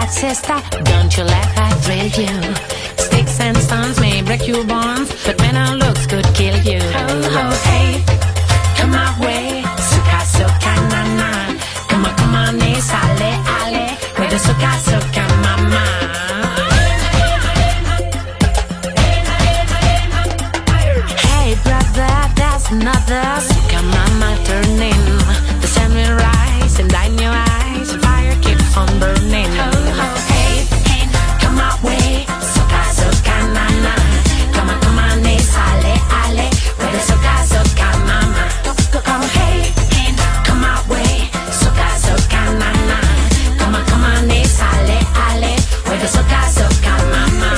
that sister, don't you let her thrill you. Sticks and stones may break your bones, but when our looks could kill you. Oh, oh, hey, come my way, suka suka na na. Come on, sale, ale, with the suka suka mama. Hey brother, there's another suka mama turning. The sun will rise and light in your eyes, the fire keeps on burning. Oh, oh, hey, come my way, suka suka na na. Come on, sale, ale, with the suka suka mama. Come, hey, come my way, suka suka na na. Come on, sale, ale, with the suka suka mama.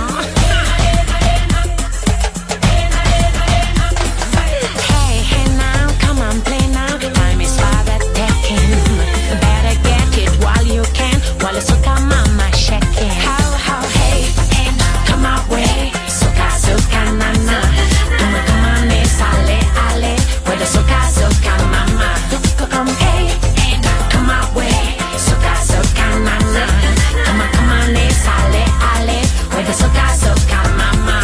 Hey, hey now, come on, play now. Time is far that taking. Better get it while you can, while the suka mama shaking. How, hey, come my way, suka suka na na. Come on, sale, ale, with the suka suka mama. Come, hey, come my way, suka suka na na. Come on, sale, ale, with the suka suka mama.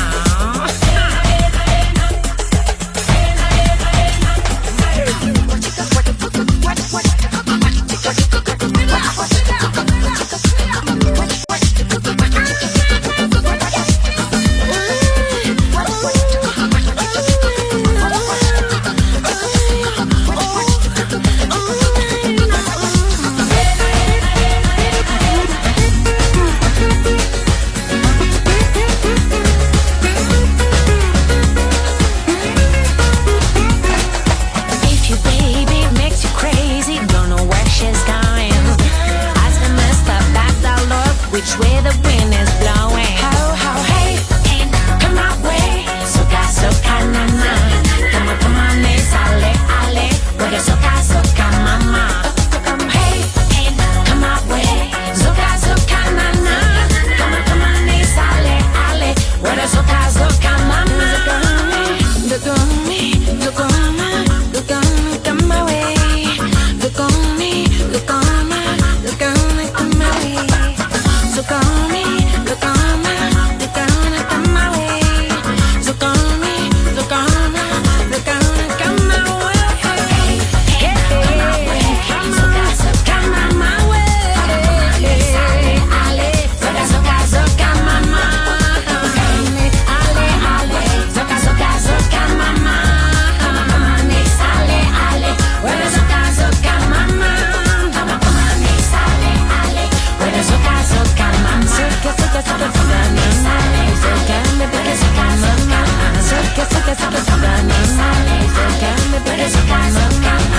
If your baby makes you crazy, don't know where she's going. Ask the mister back the Lord, which way the wind is blowing. How, hey, come my way, suka suka na na. Come on, sale, ale, with the suka suka mama. Come, hey, come my way, suka suka na na. Come on, sale, ale, with the suka suka mama. Look on me, look on me, look on me, come my way. Look on me, look on me, look on me, come my way. Look on me, look on me, look on me, come my way. Look on me, look on me, look on me, come my way. Yeah, come my way, come my way. Ale, ale, suka suka mama. Ale, ale, suka suka mama. Sale, ale, with the suka suka mama. Come on, sale, ale, with the suka suka mama. Suka suka suka suka mama. Suka me suka suka mama. Suka suka suka suka mama. Suka me suka suka mama.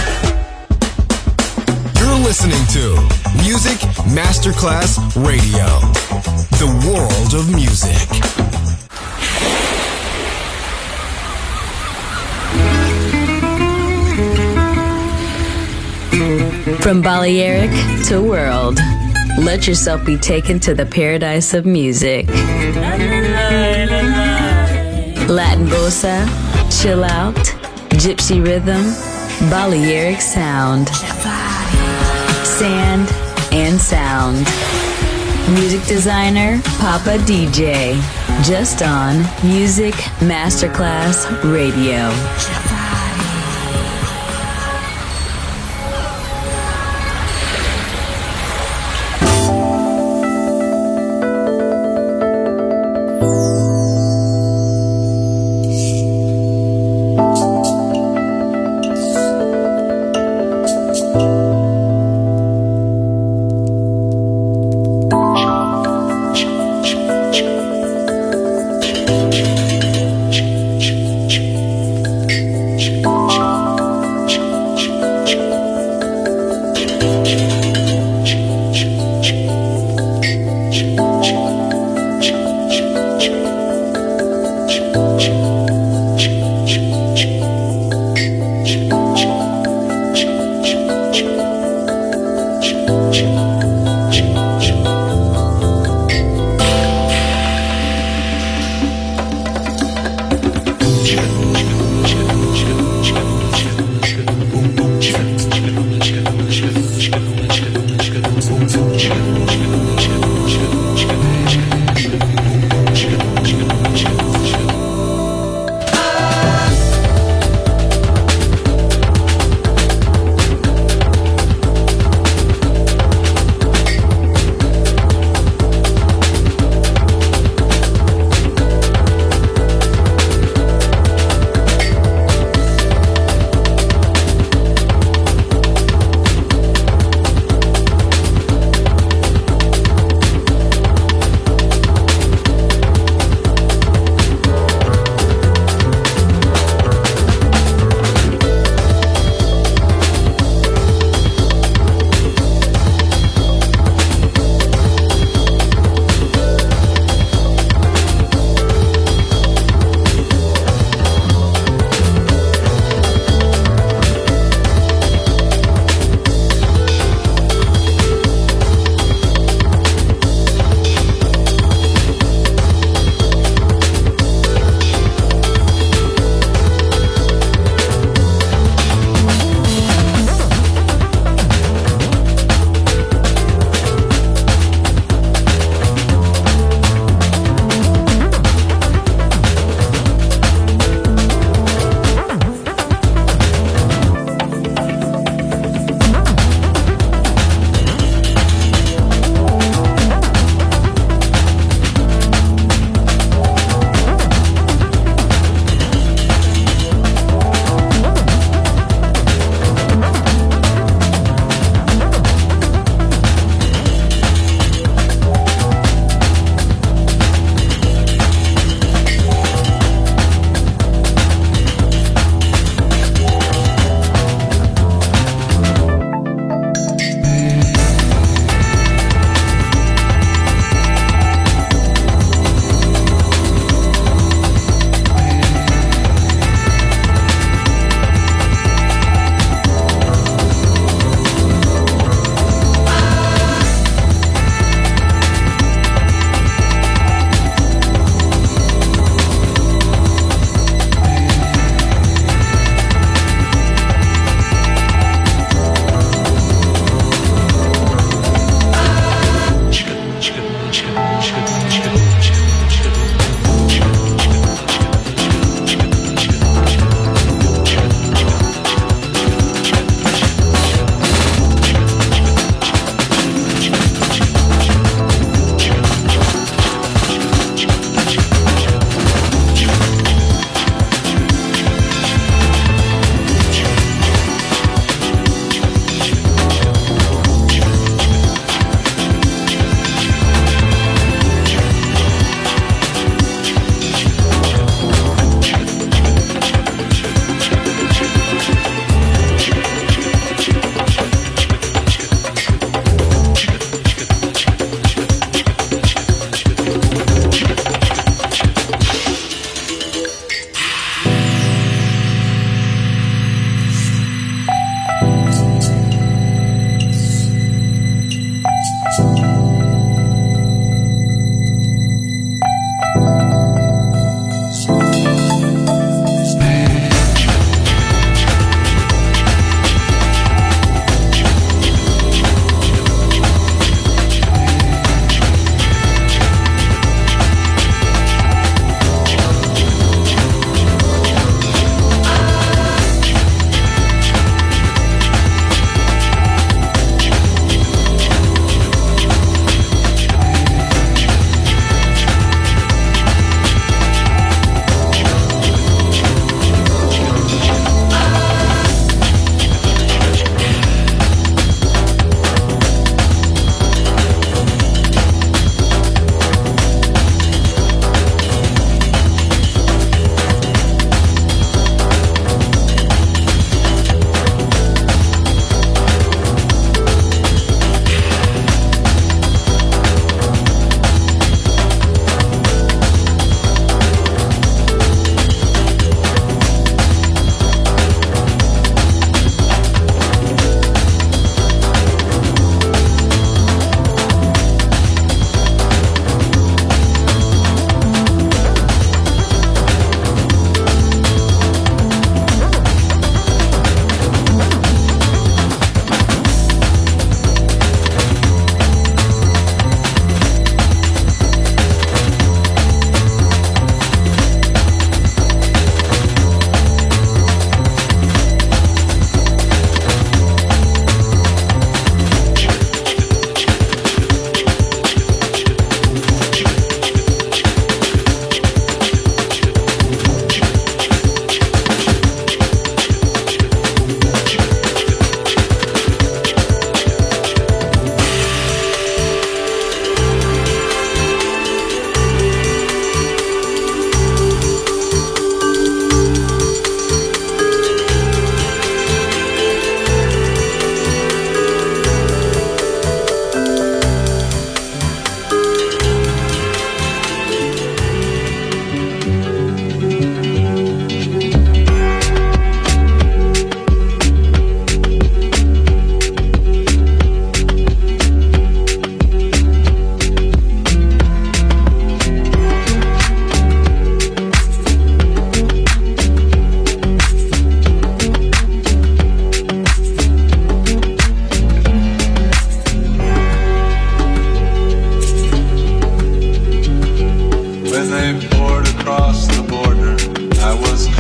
You're listening to Music Masterclass Radio, the world of music. From Balearic to world, let yourself be taken to the paradise of music. Latin bossa, chill out, gypsy rhythm, Balearic sound, sand and sound. Music designer, Papa DJ, just on Music Masterclass Radio.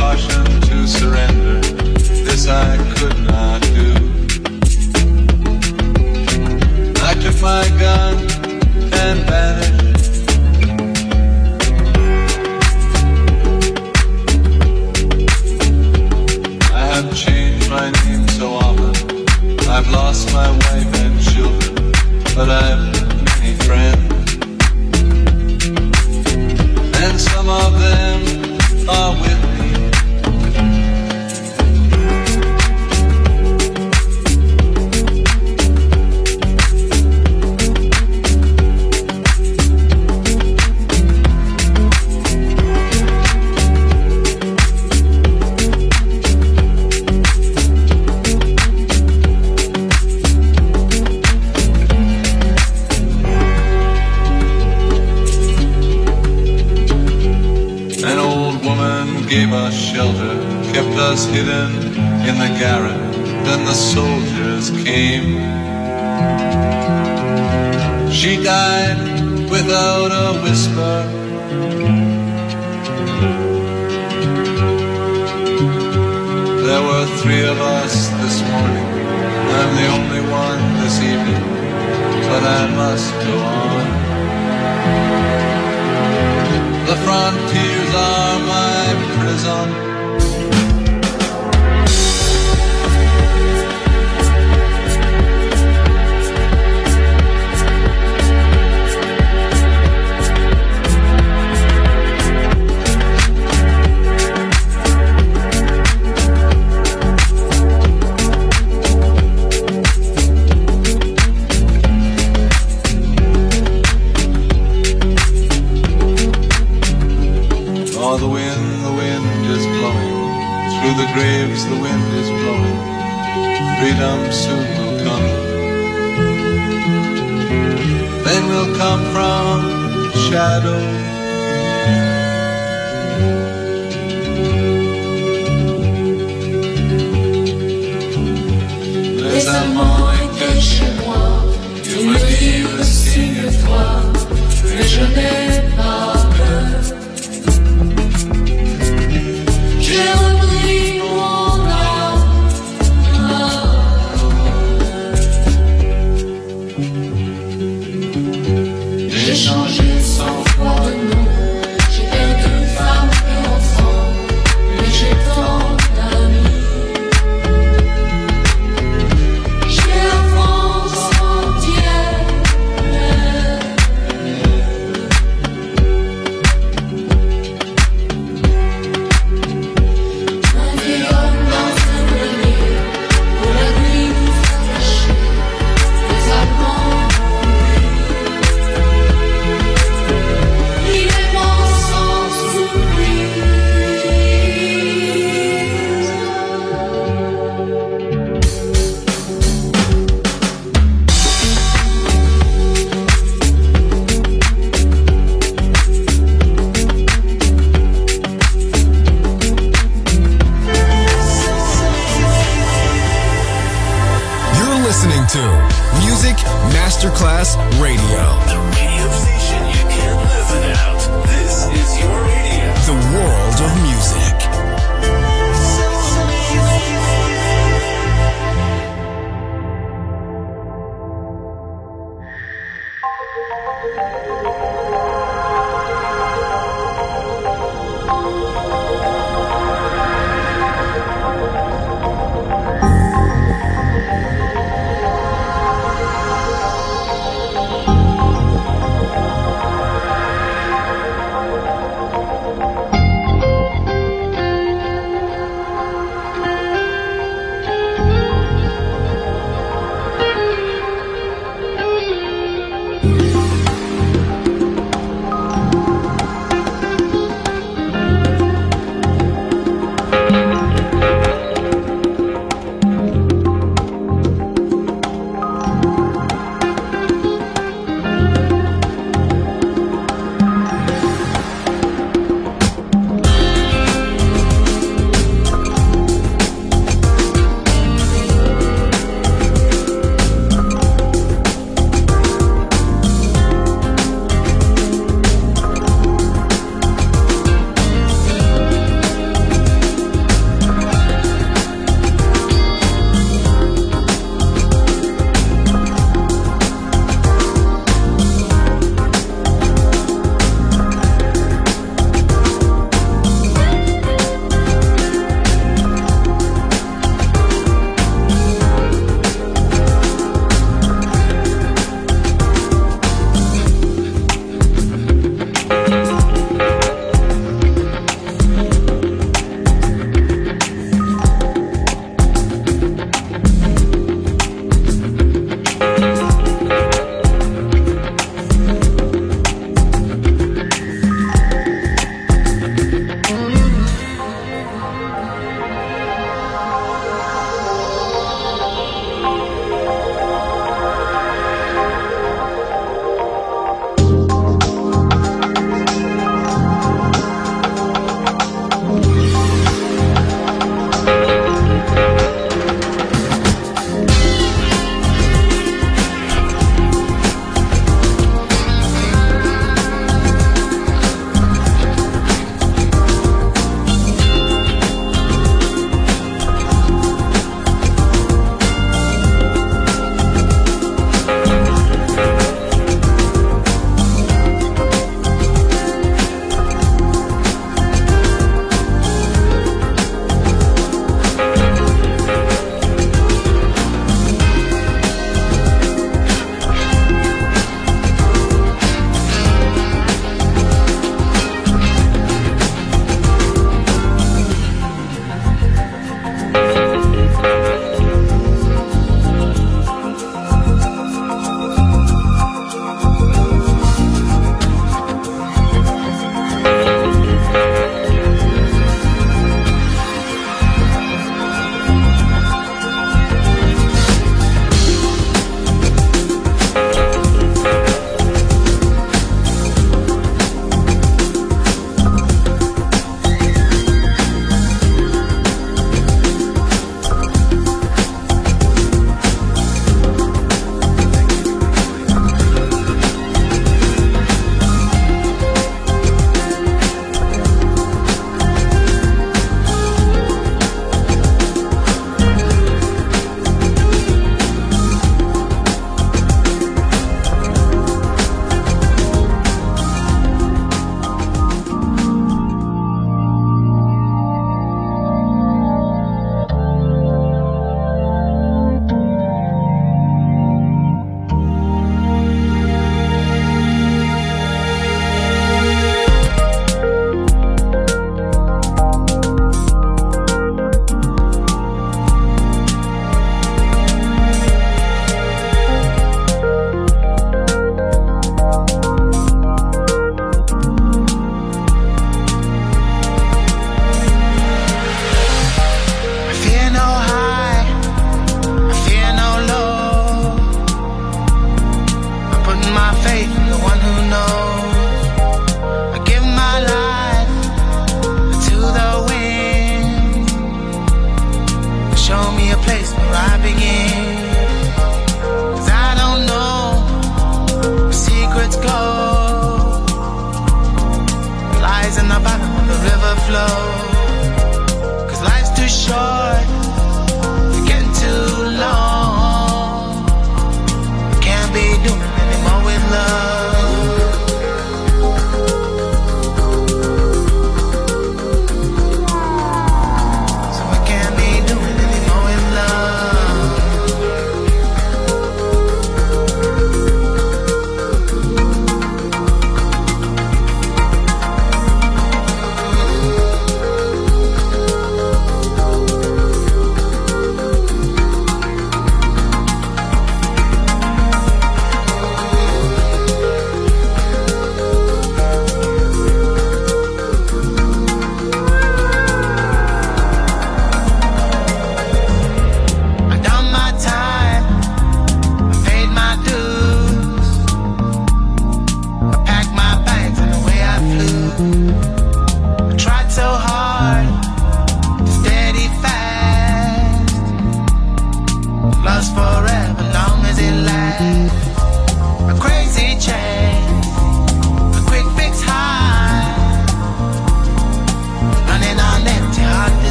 caution to surrender. This I could not do. I took my gun and vanished. I have changed my name so often. I've lost my wife and children, but I've many friends. And some of them are with me. Gave us shelter, kept us hidden in the garret. Then the soldiers came. She died without a whisper. There were 3 of us this morning. I'm the only one this evening, but I must go on. The frontiers are my prison. Through the graves the wind is blowing. Freedom soon will come. Then will come from shadow. Les amants étaient chez moi. Tu me dis ressigne-toi, mais je n'ai pas peur. J'ai repris mon âme. J'ai changé 100 fois de nom. J'ai perdu femme et enfant, mais j'ai tant d'amis. J'ai la France entière. Masterclass Radio. The radio station you can't live without. This is your radio. The world of music.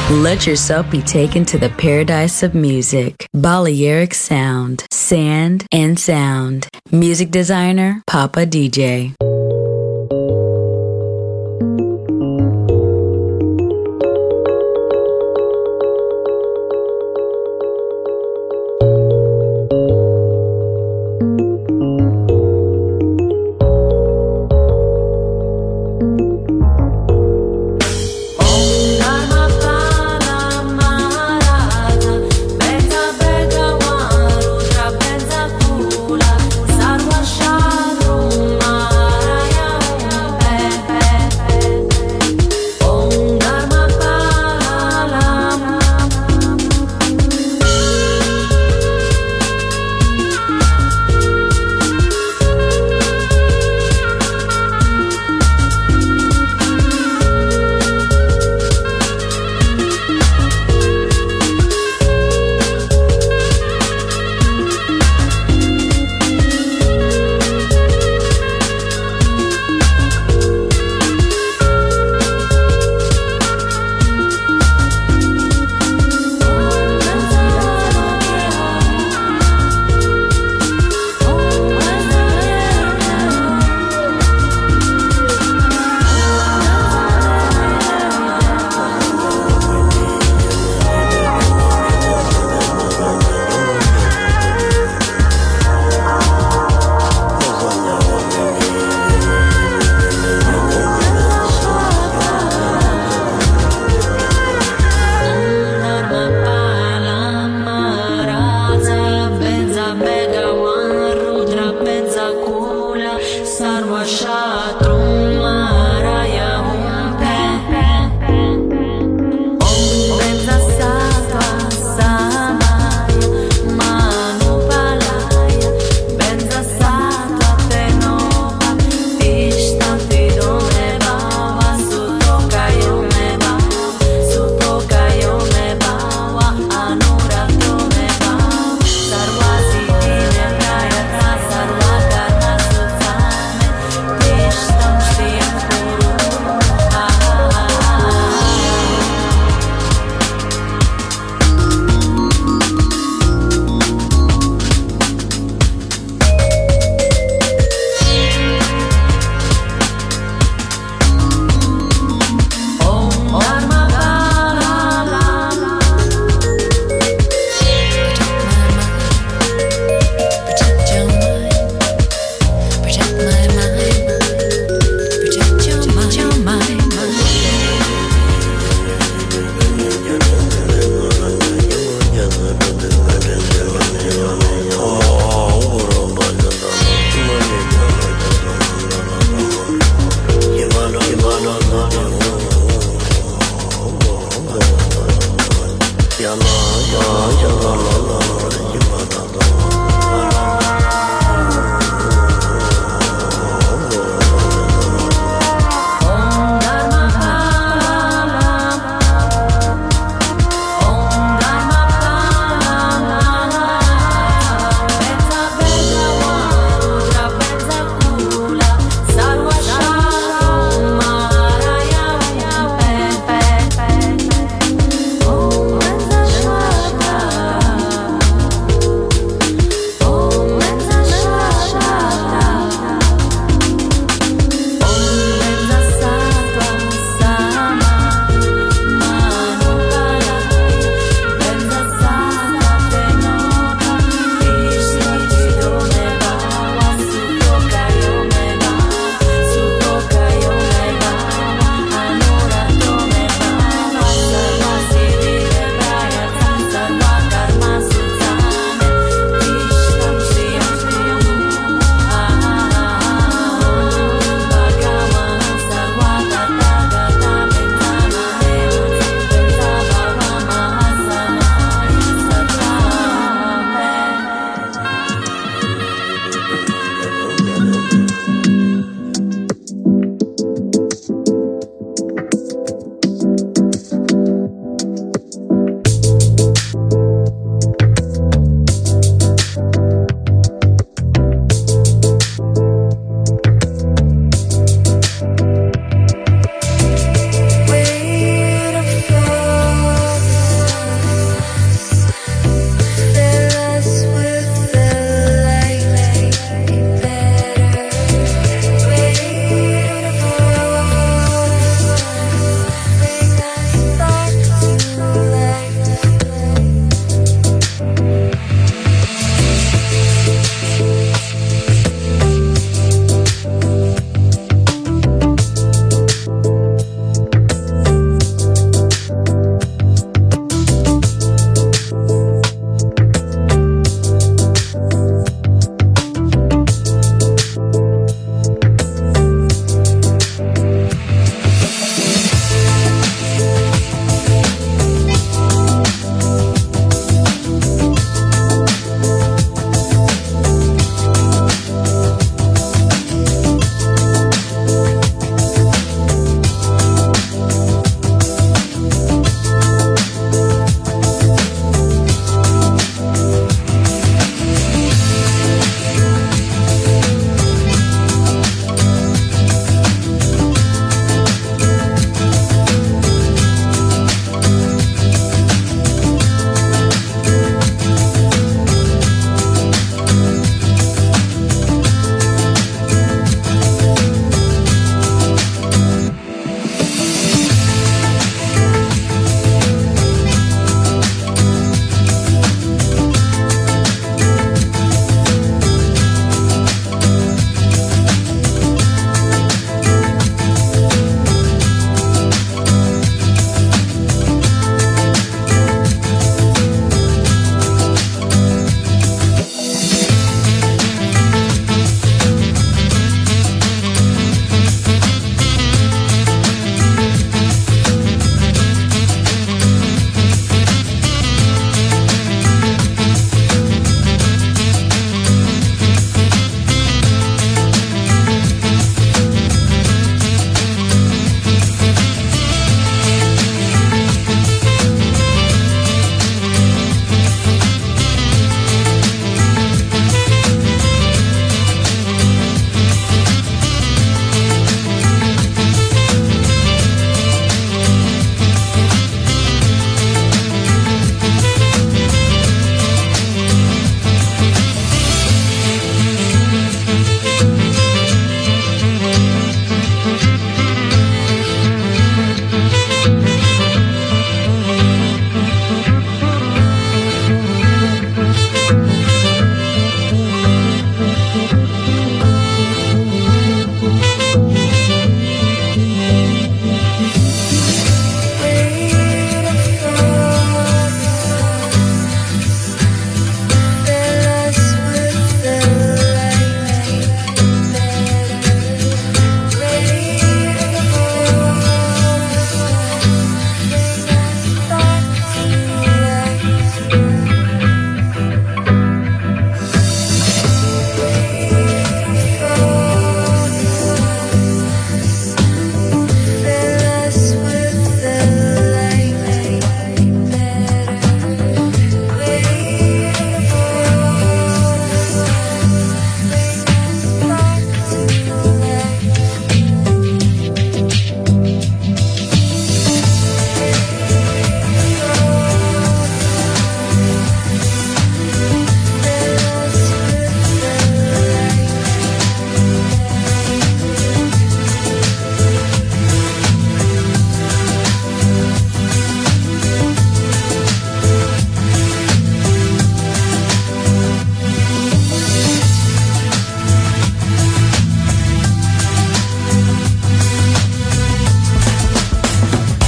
Let yourself be taken to the paradise of music. Balearic Sound, Sand and Sound. Music designer, Papa DJ. Sarva Sharumara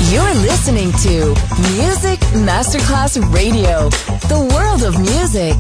You're listening to Music Masterclass Radio, the world of music.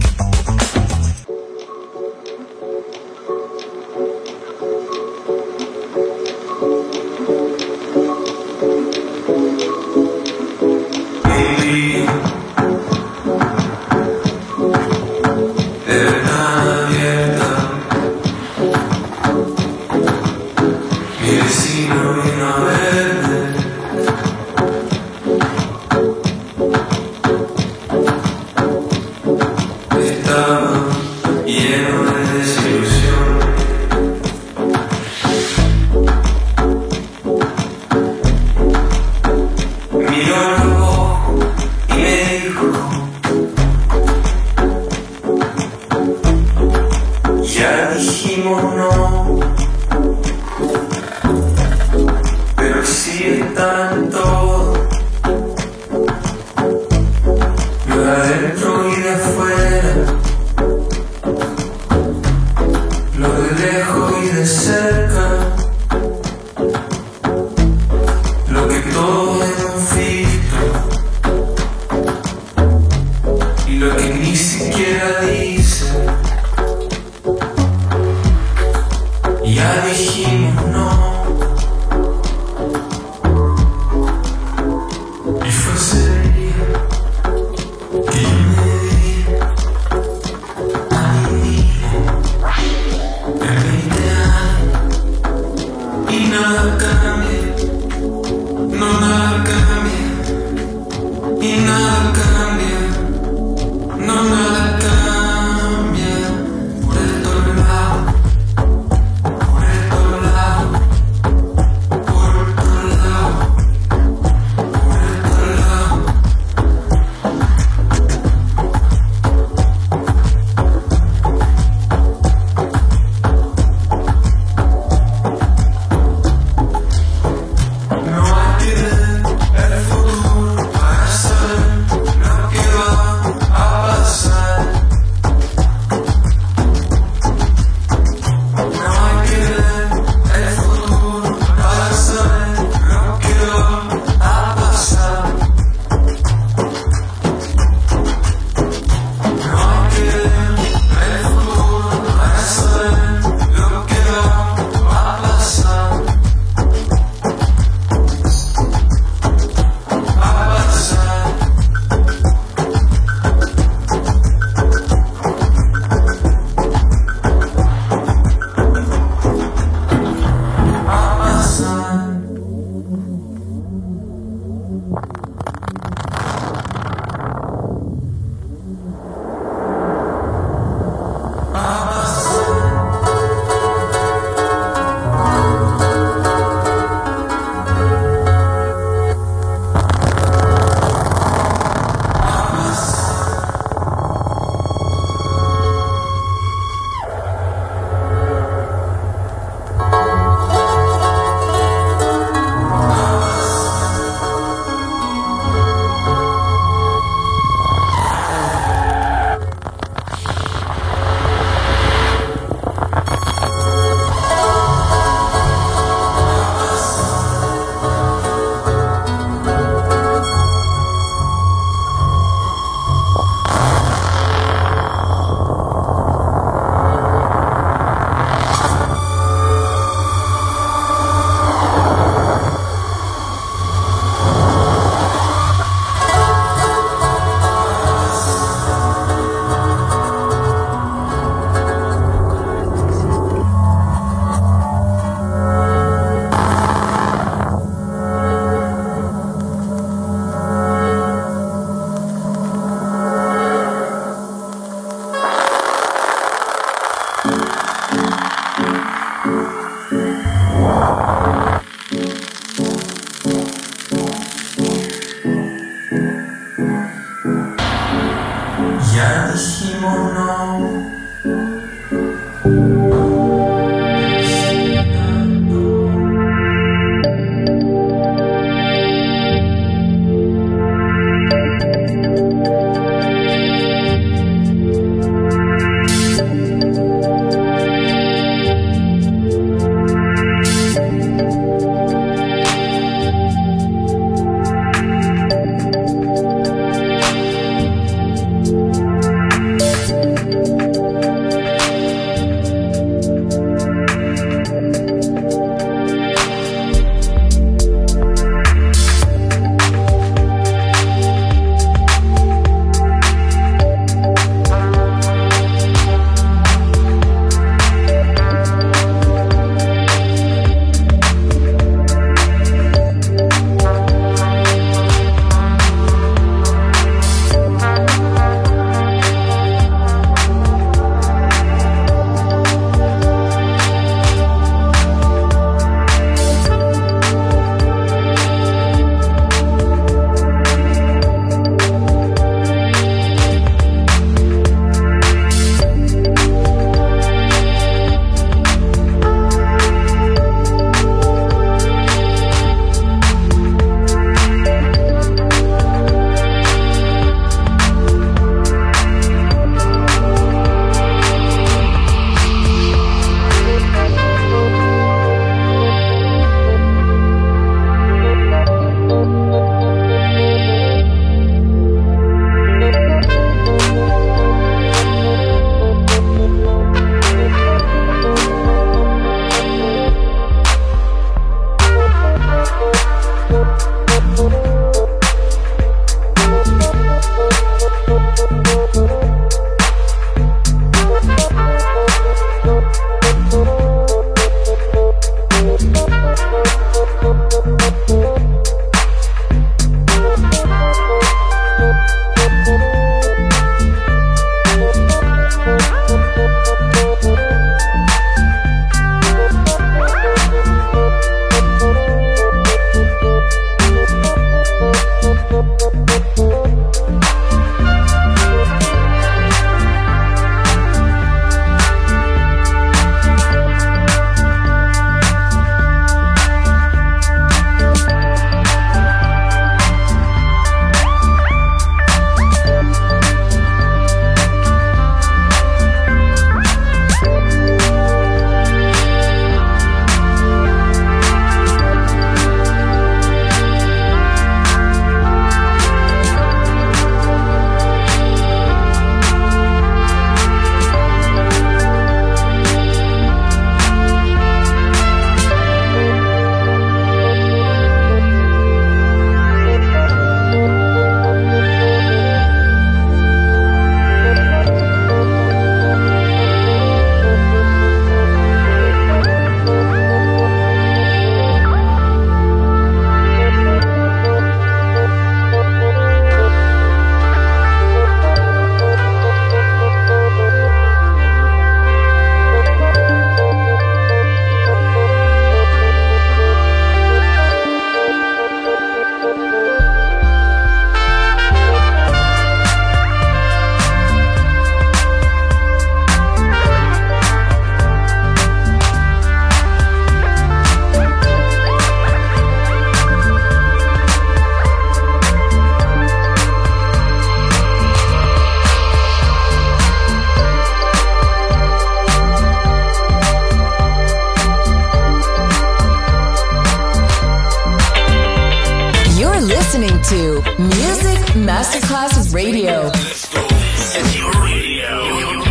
to Music Masterclass Radio. Let's go. It's your radio.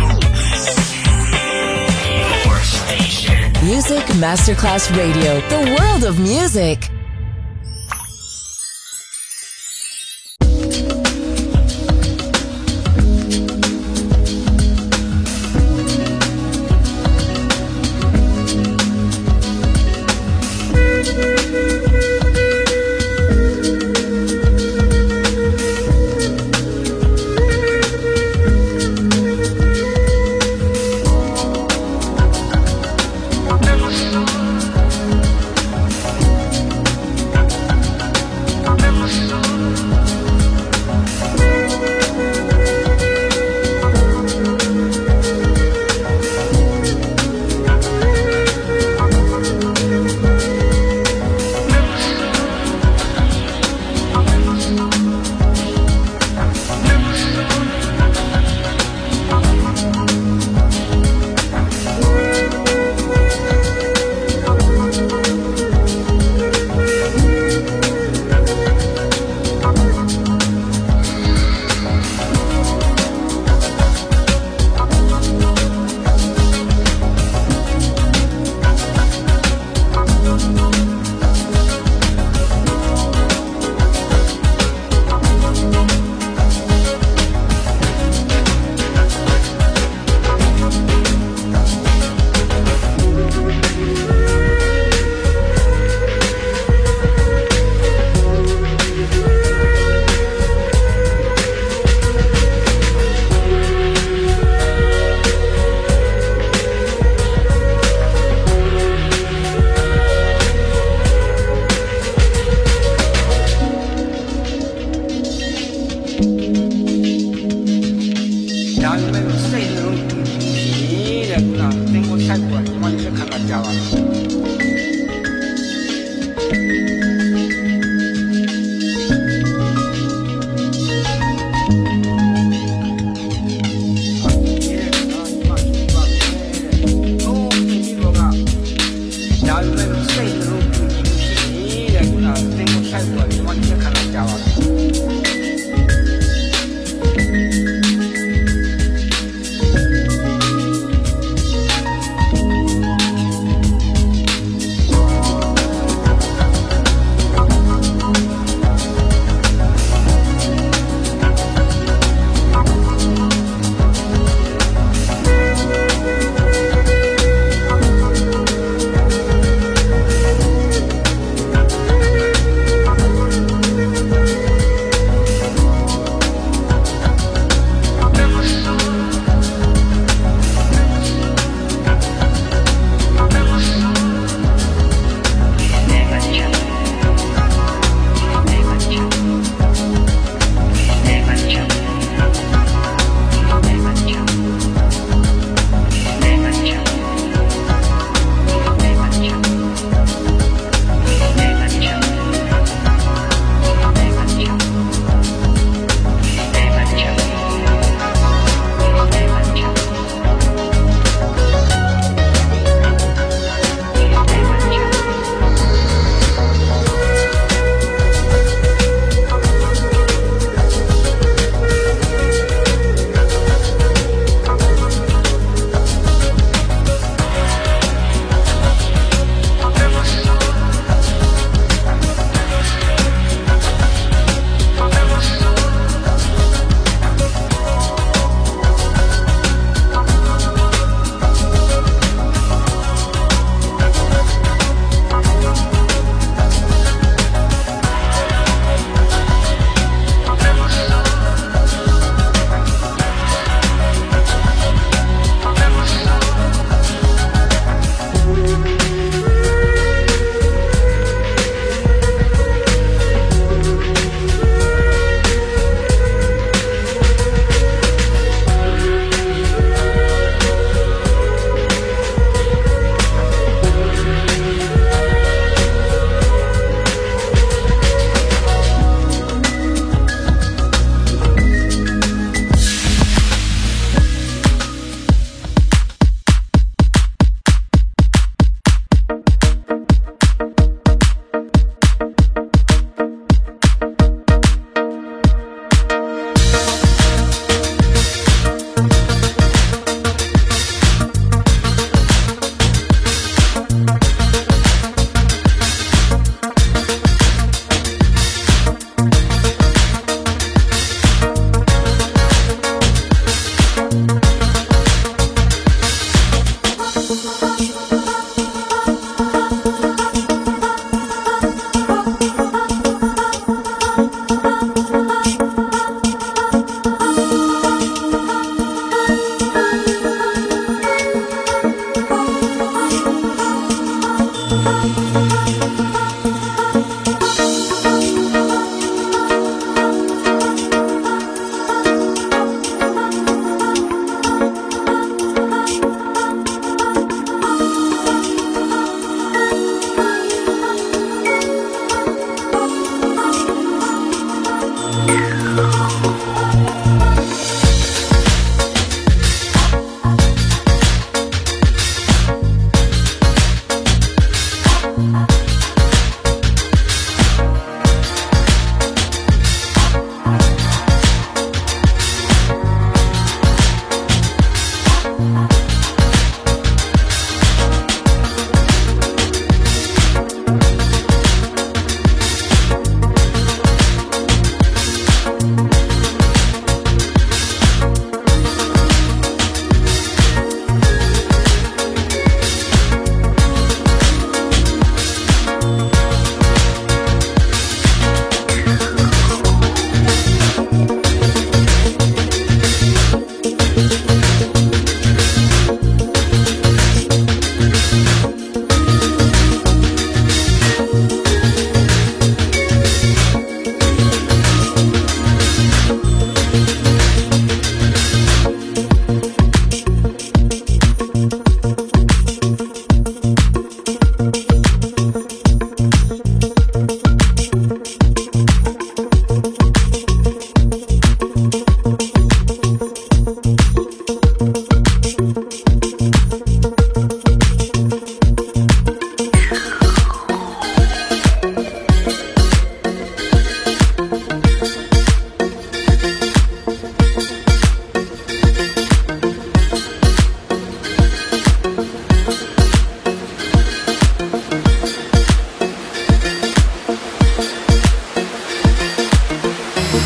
Your station. Music Masterclass Radio. The world of music.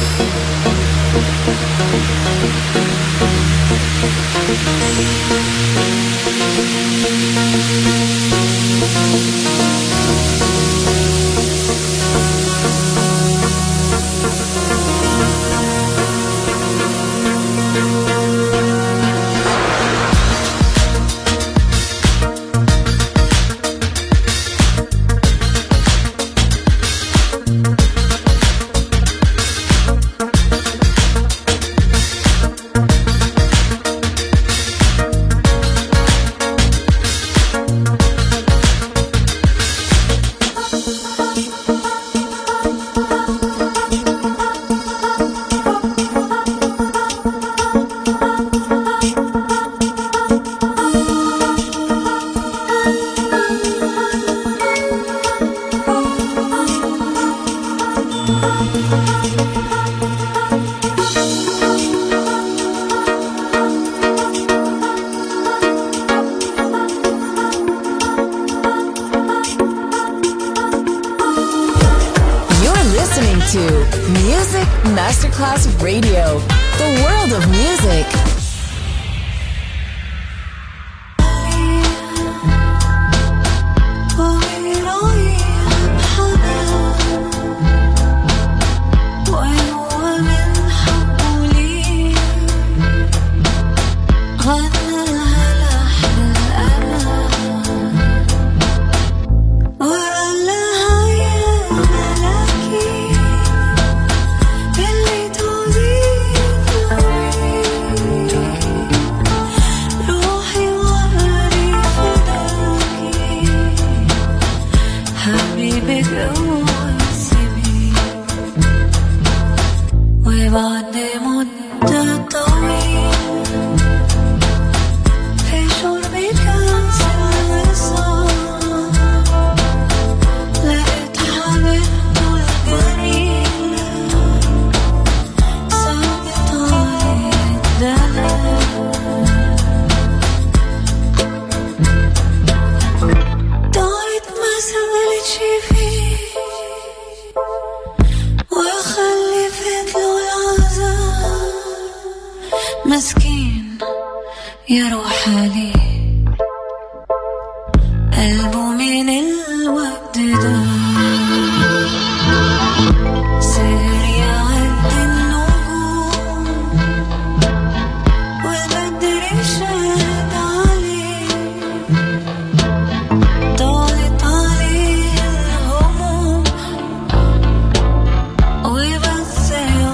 Music Masterclass Radio, the world of music.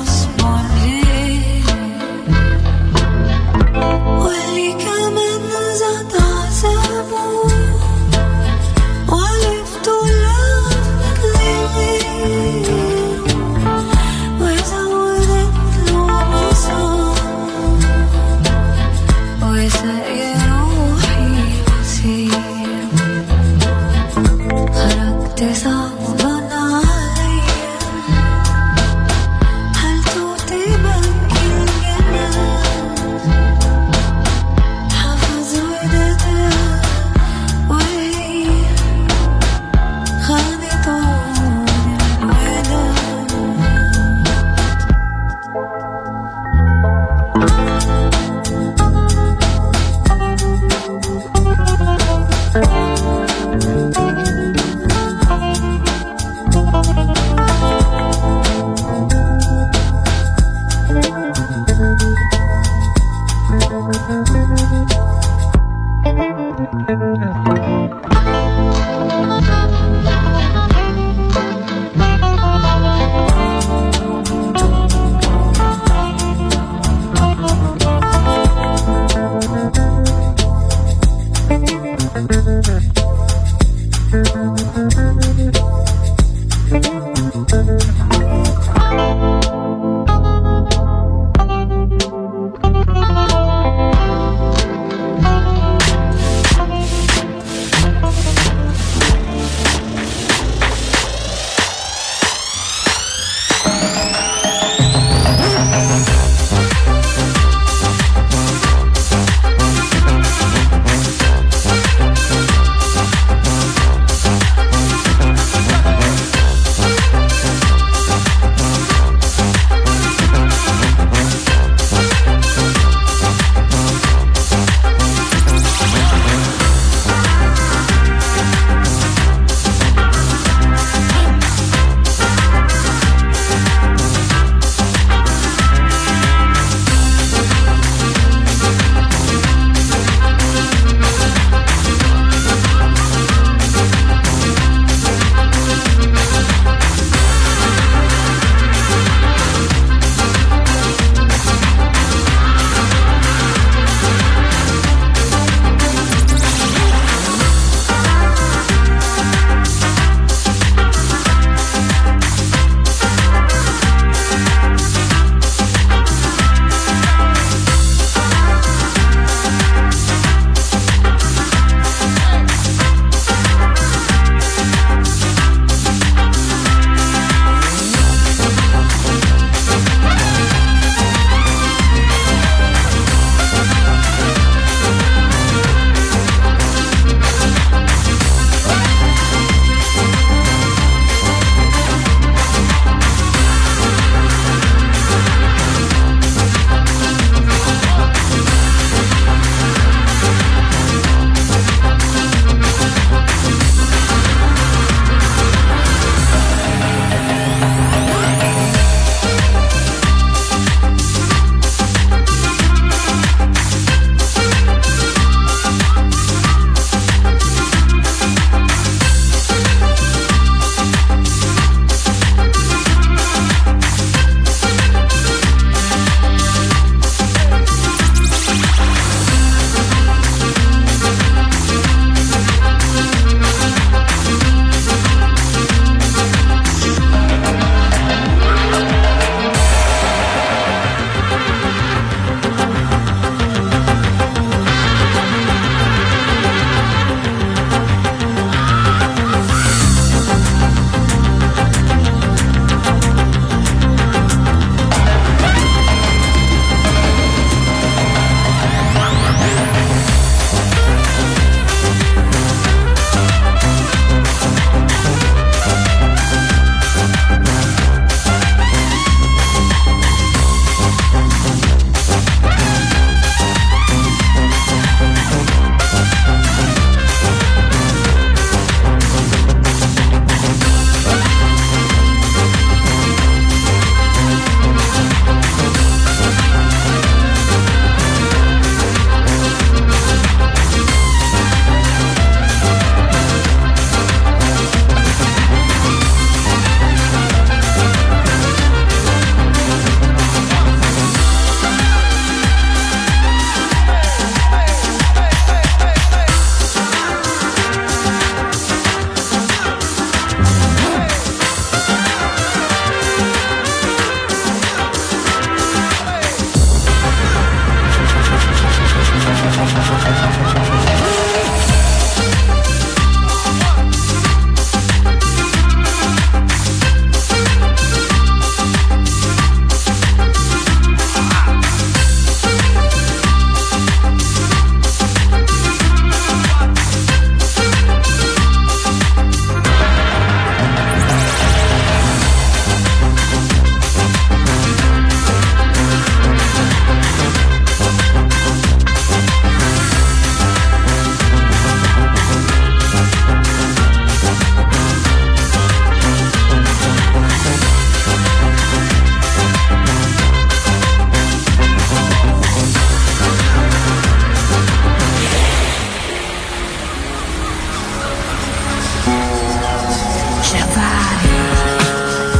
واللي كمان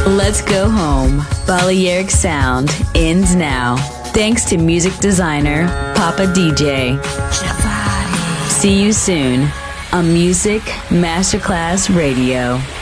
Let's go home. Balearic Sound ends now. Thanks to music designer Papa DJ. See you soon on Music Masterclass Radio.